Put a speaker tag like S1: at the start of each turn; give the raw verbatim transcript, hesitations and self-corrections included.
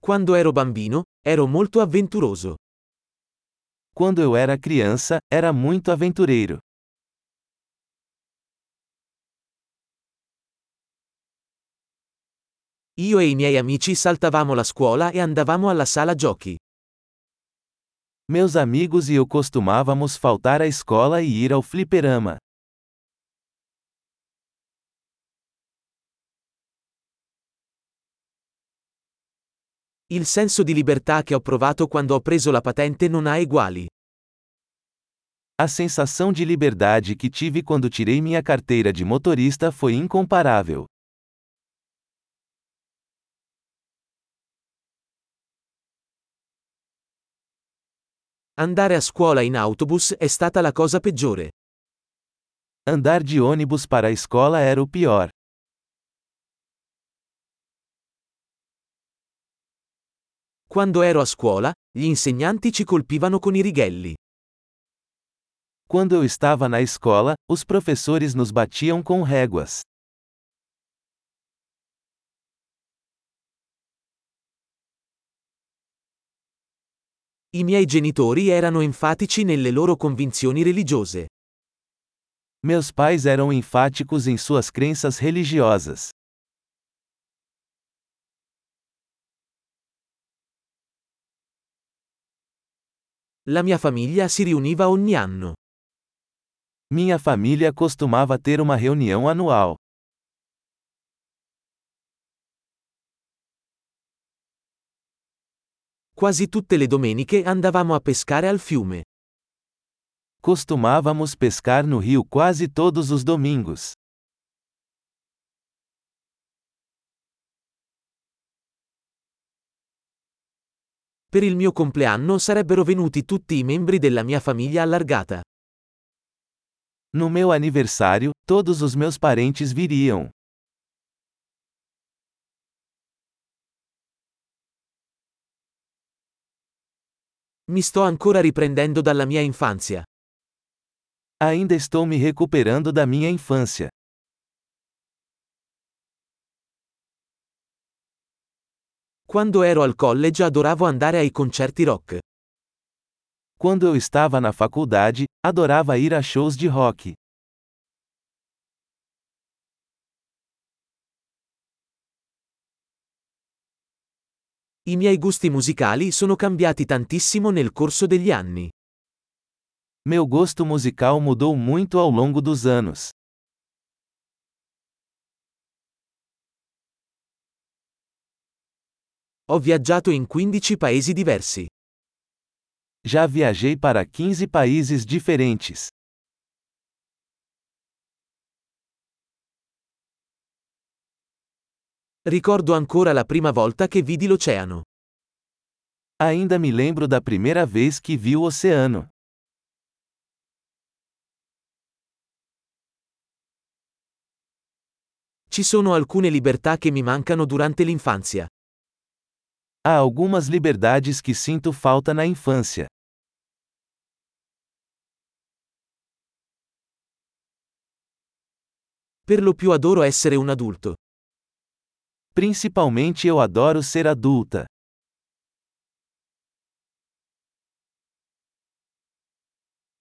S1: Quando ero bambino, ero molto avventuroso.
S2: Quando eu era criança, era muito aventureiro.
S1: Io e i miei amici saltavamo la scuola e andavamo alla sala giochi.
S2: Meus amigos e eu costumávamos faltar à escola e ir ao fliperama.
S1: Il senso di libertà che ho provato quando ho preso la patente non ha eguali.
S2: A sensação de liberdade que tive quando tirei minha carteira de motorista foi incomparável.
S1: Andare a scuola in autobus è stata la cosa peggiore.
S2: Andar de ônibus para a escola era o pior.
S1: Quando ero a scuola, gli insegnanti ci colpivano con i righelli.
S2: Quando eu estava na escola, os professores nos batiam com réguas.
S1: I miei genitori erano enfatici nelle loro convinzioni religiose.
S2: Meus pais eram enfáticos em suas crenças religiosas.
S1: La mia famiglia si riuniva ogni anno.
S2: Minha família costumava ter uma reunião anual.
S1: Quasi tutte le domeniche andavamo a pescare al fiume.
S2: Costumávamos pescar no rio quase todos os domingos.
S1: Per il mio compleanno sarebbero venuti tutti i membri della mia famiglia allargata.
S2: No meu aniversário, todos os meus parentes viriam.
S1: Mi sto ancora riprendendo dalla mia infanzia.
S2: Ainda estou me recuperando da minha infância.
S1: Quando ero al college adoravo andare ai concerti rock.
S2: Quando eu estava na faculdade, adorava ir a shows de rock.
S1: I miei gusti musicali sono cambiati tantissimo nel corso degli anni.
S2: Meu gosto musical mudou muito ao longo dos anos.
S1: Ho viaggiato in quindici paesi diversi.
S2: Já viajei para quinze países diferentes.
S1: Ricordo ancora la prima volta che vidi l'oceano.
S2: Ainda me lembro da primeira vez que vi o oceano.
S1: Ci sono alcune libertà che mi mancano durante l'infanzia.
S2: Há algumas liberdades que sinto falta na infância.
S1: Per lo più adoro essere un adulto.
S2: Principalmente eu adoro ser adulta.